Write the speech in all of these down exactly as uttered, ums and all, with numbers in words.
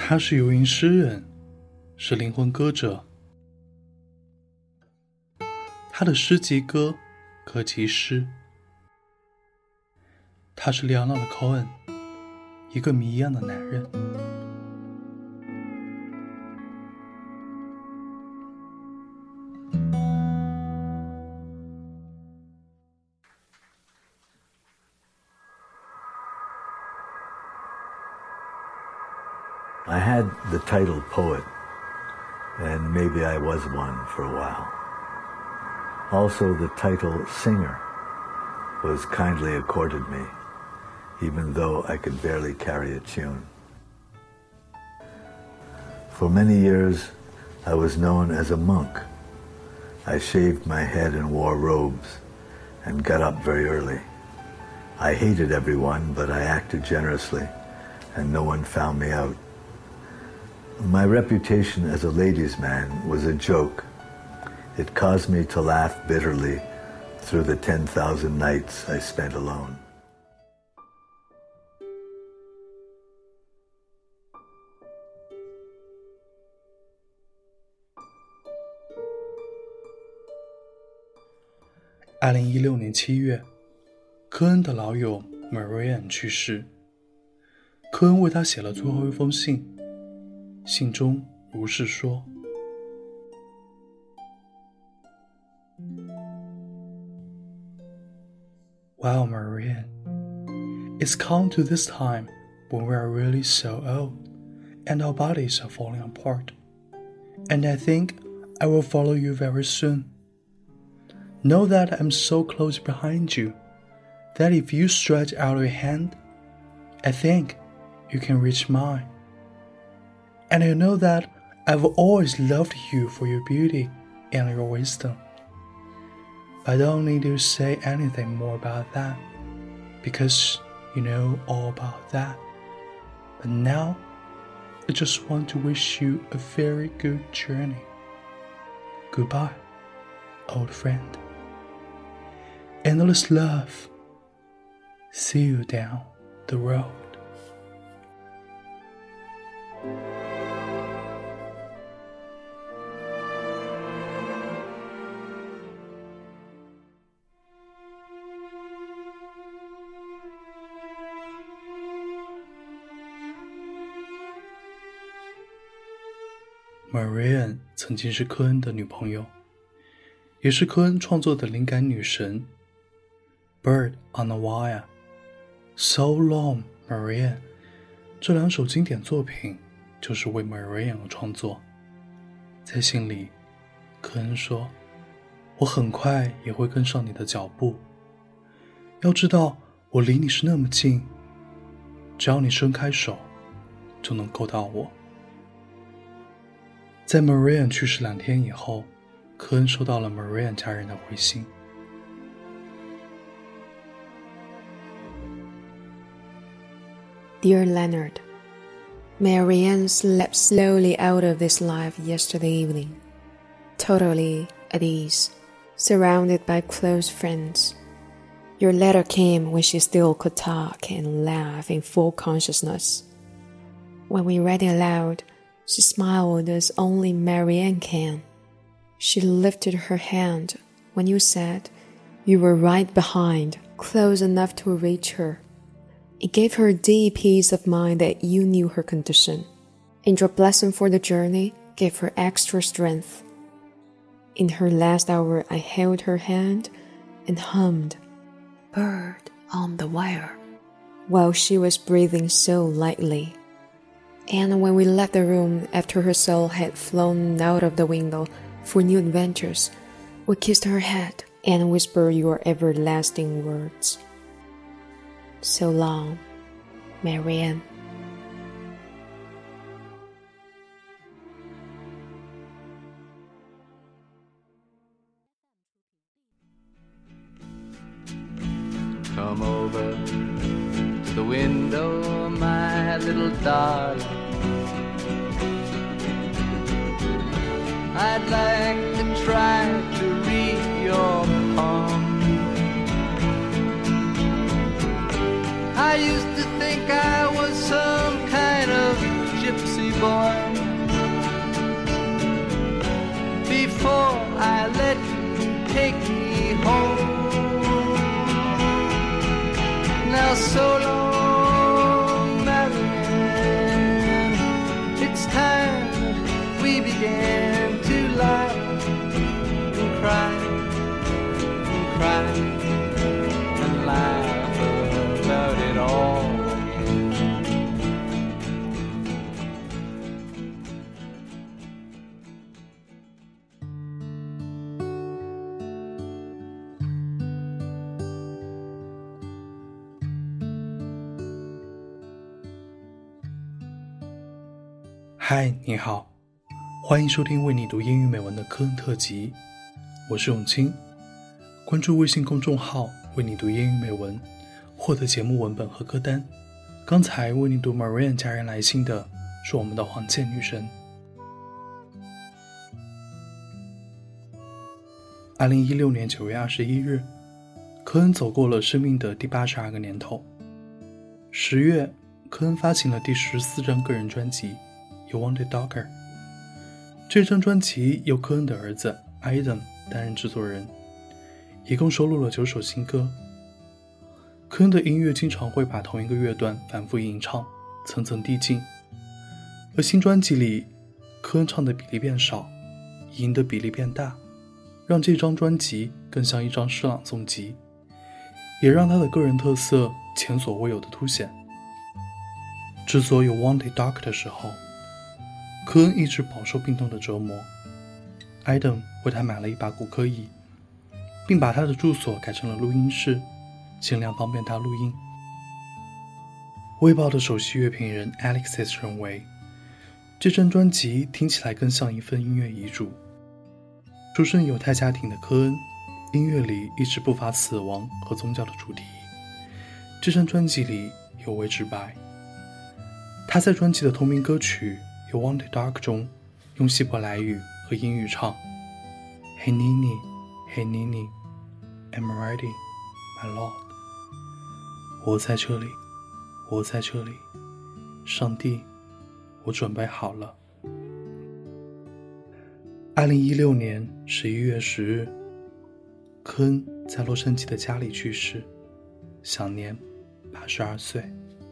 他是游吟诗人，是灵魂歌者。他的诗集歌，歌集诗。他是里奥纳多·科恩，一个谜一样的男人。 I had the title poet, and maybe I was one for a while. Also, the title singer was kindly accorded me, even though I could barely carry a tune. For many years, I was known as a monk. I shaved my head and wore robes, and got up very early. I hated everyone, but I acted generously, and no one found me out. My reputation as a ladies' man was a joke. It caused me to laugh bitterly through the ten thousand nights I spent alone. "二零一六年七月，科恩的老友 Marianne 去世。科恩为他写了最后一封信，信中如是说：Well, Marianne, it's come to this time when we are really so old, and our bodies are falling apart, and I think I will follow you very soon. Know that I'm so close behind you, that if you stretch out your hand, I think you can reach mine. And I know that I've always loved you for your beauty and your wisdom. I don't need to say anything more about that, because you know all about that. But now, I just want to wish you a very good journey. Goodbye, old friend. Endless love. See you down the road." Marianne 曾经是科恩的女朋友，也是科恩创作的灵感女神。Bird on a Wire, So Long, Marianne 这两首经典作品就是为 Marianne 而创作。在信里，科恩说：我很快也会跟上你的脚步，要知道我离你是那么近，只要你伸开手就能够到我。在 Marianne 去世两天以后，科恩收到了 Marianne 家人的回信。 Dear Leonard, Marianne slept slowly out of this life yesterday evening, totally at ease, surrounded by close friends. Your letter came when she still could talk and laugh in full consciousness. When we read it aloud, she smiled as only Marianne can. She lifted her hand when you said you were right behind, close enough to reach her. It gave her a deep peace of mind that you knew her condition, and your blessing for the journey gave her extra strength. In her last hour, I held her hand and hummed "Bird on the Wire" while she was breathing so lightly. And when we left the room after her soul had flown out of the window for new adventures, we kissed her head and whispered your everlasting words. So long, Marianne. Come over to the window, my little darling. I'd like to try to read your palm. I used to think I was some kind of gypsy boy. Before I let you take me home. Now so long, Marianne. It's time that we began to laugh and cry and cry and laugh about it all again. 嗨，你好，欢迎收听为你读英语美文的科恩特辑，我是永清。关注微信公众号为你读英语美文，获得节目文本和歌单。刚才为你读 Marianne 家人来信的是我们的黄健女神。二零一六年九月二十一日，科恩走过了生命的第八十二个年头。十月，科恩发行了第十四张个人专辑You Want It Darker。 这张专辑由科恩的儿子 Adam 担任制作人，一共收录了九首新歌。科恩的音乐经常会把同一个乐段反复吟唱，层层递进。而新专辑里，科恩唱的比例变少，吟的比例变大，让这张专辑更像一张诗朗诵集，也让他的个人特色前所未有的凸显。制作You Want It Darker 的时候，科恩一直饱受病痛的折磨。Adam 为他买了一把骨科椅，并把他的住所改成了录音室，尽量方便他录音。卫报的首席乐评人 Alexis 认为，这张专辑听起来更像一份音乐遗嘱。出身犹太家庭的科恩，音乐里一直不乏死亡和宗教的主题。这张专辑里尤为直白。他在专辑的同名歌曲You Want It Dark 中用希伯来语和英语唱 Hey Nini, Hey Nini, I'm ready, my Lord。 我在这里，我在这里，上帝，我准备好了。二零一六年十一月十日，科恩在洛杉矶的家里去世，享年八十二岁。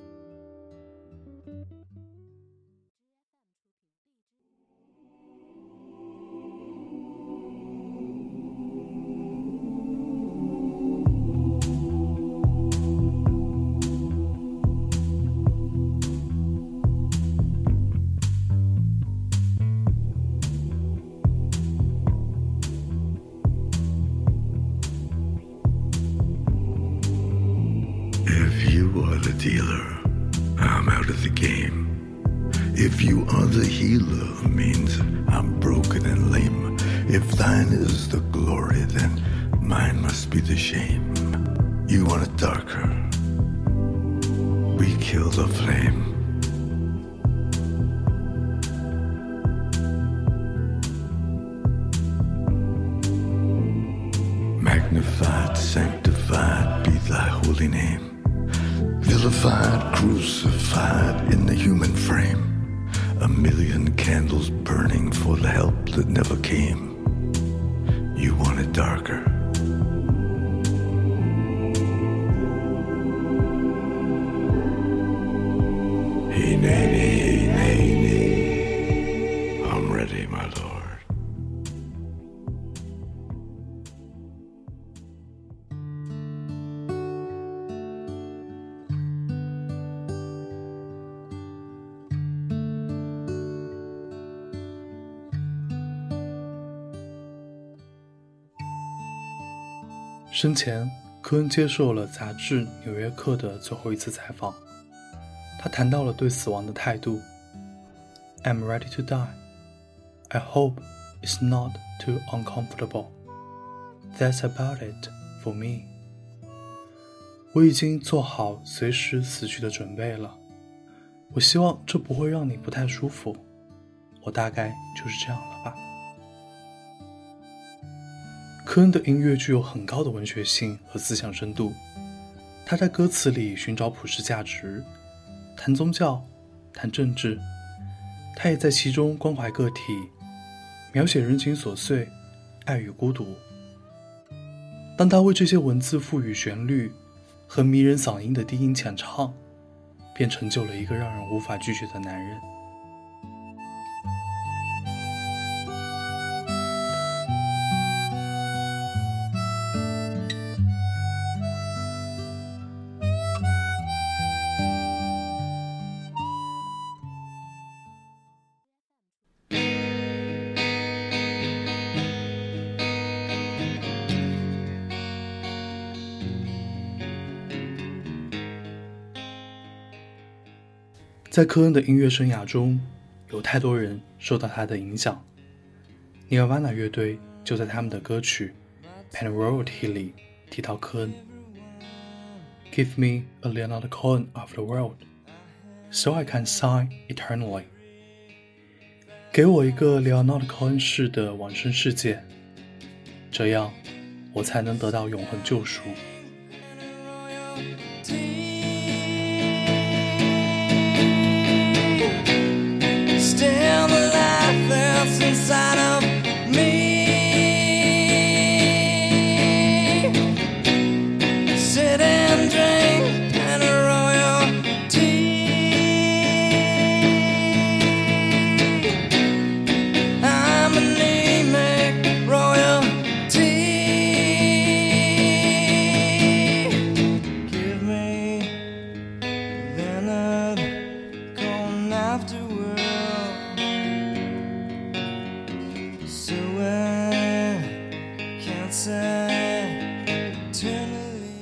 The dealer, I'm out of the game. If you are the healer, means I'm broken and lame. If thine is the glory, then mine must be the shame. You want it darker, we kill the flame. Magnified, sanctified be thy holy name. Vilified, crucified in the human frame. A million candles burning for the help that never came. You want it darker. Hey, nay, nay, nay, nay. I'm ready, my lord. 生前，科恩接受了杂志《纽约客》的最后一次采访。他谈到了对死亡的态度。I'm ready to die. I hope it's not too uncomfortable. That's about it for me. 我已经做好随时死去的准备了。我希望这不会让你不太舒服。我大概就是这样了吧。科恩的音乐具有很高的文学性和思想深度，他在歌词里寻找普世价值，谈宗教，谈政治， 他也在其中关怀个体，描写人情琐碎，爱与孤独。当他为这些文字赋予旋律和迷人嗓音的低音浅唱，便成就了一个让人无法拒绝的男人。在科恩的音乐生涯中，有太多人受到他的影响。尼尔瓦纳乐队就在他们的歌曲《Panarotti》里提到科恩。 Give me a Leonard Cohen of the world, so I can sigh eternally. 给我一个 Leonard Cohen 式的往生世界，这样我才能得到永恒救赎。 Still the life that's inside of me. Sit and drink and royal tea. I'm anemic royalty. Give me Leonard Cohen afterwards. So I can't say eternally.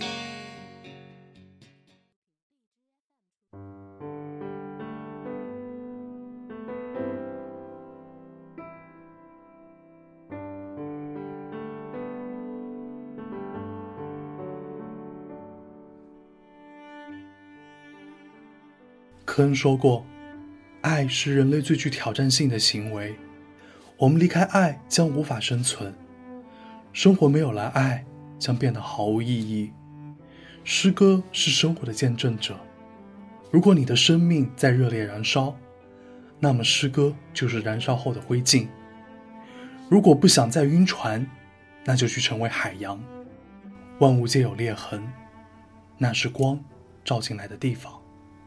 科恩说过，爱是人类最具挑战性的行为，我们离开爱将无法生存，生活没有了爱将变得毫无意义。诗歌是生活的见证者，如果你的生命在热烈燃烧，那么诗歌就是燃烧后的灰烬。如果不想再晕船，那就去成为海洋。万物皆有裂痕，那是光照进来的地方。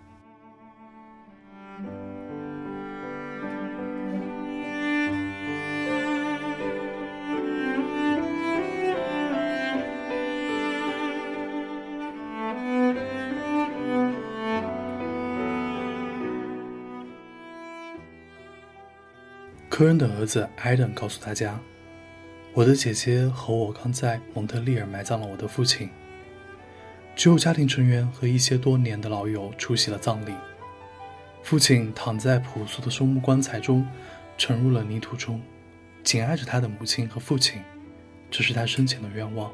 科恩的儿子艾登告诉大家，我的姐姐和我刚在蒙特利尔埋葬了我的父亲，只有家庭成员和一些多年的老友出席了葬礼。父亲躺在朴素的松木棺材中，沉入了泥土中，紧挨着他的母亲和父亲，这是他生前的愿望。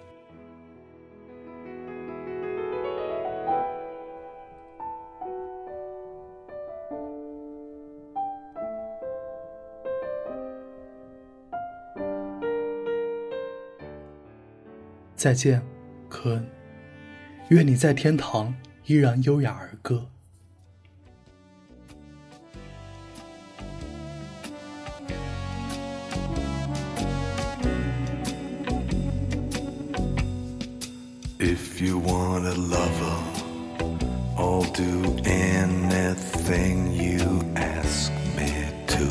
再见，科恩，愿你在天堂依然优雅而歌。 If you want a lover, I'll do anything you ask me to.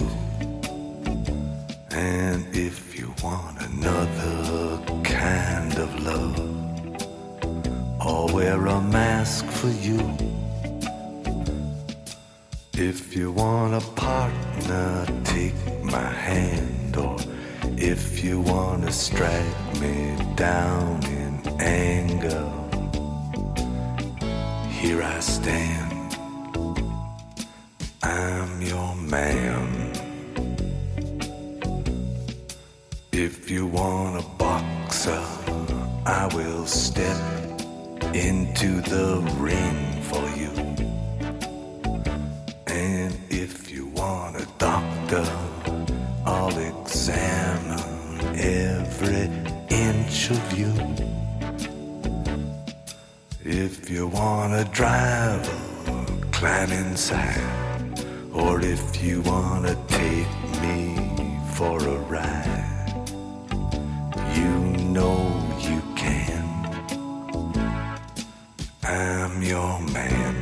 And if you want another kind of love, I'll wear a mask for you. If you want a partner, take my hand. Or if you want to strike me down in anger, here I stand, I'm your man. If you want a boxer, I will step into the ring for you. And if you want a doctor, I'll examine every inch of you. If you want a driver, climb inside. or if you wanna take me for a ride, you know you can. I'm your man.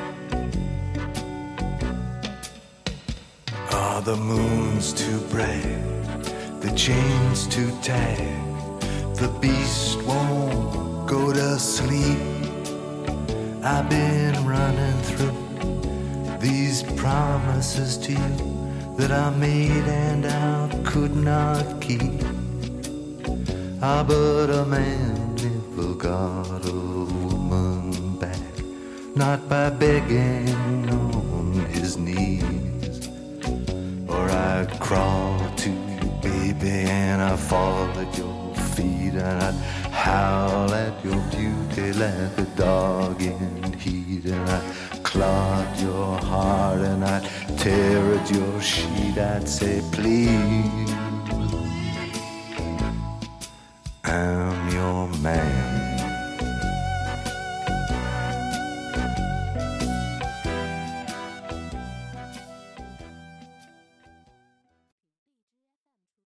Oh, the moon's too bright, the chain's too tight, the beast won't go to sleep. I've been running through these promises to you that I made and I could not keep. Ah, but a man never got a woman back, not by begging on his knees. Or I'd crawl to you, baby, and I'd fall at your feet, and I'd howl at your beauty like a dog in heat, and I'd clog your heart and I'd tear at your sheet. I'd say, please, I'm your man.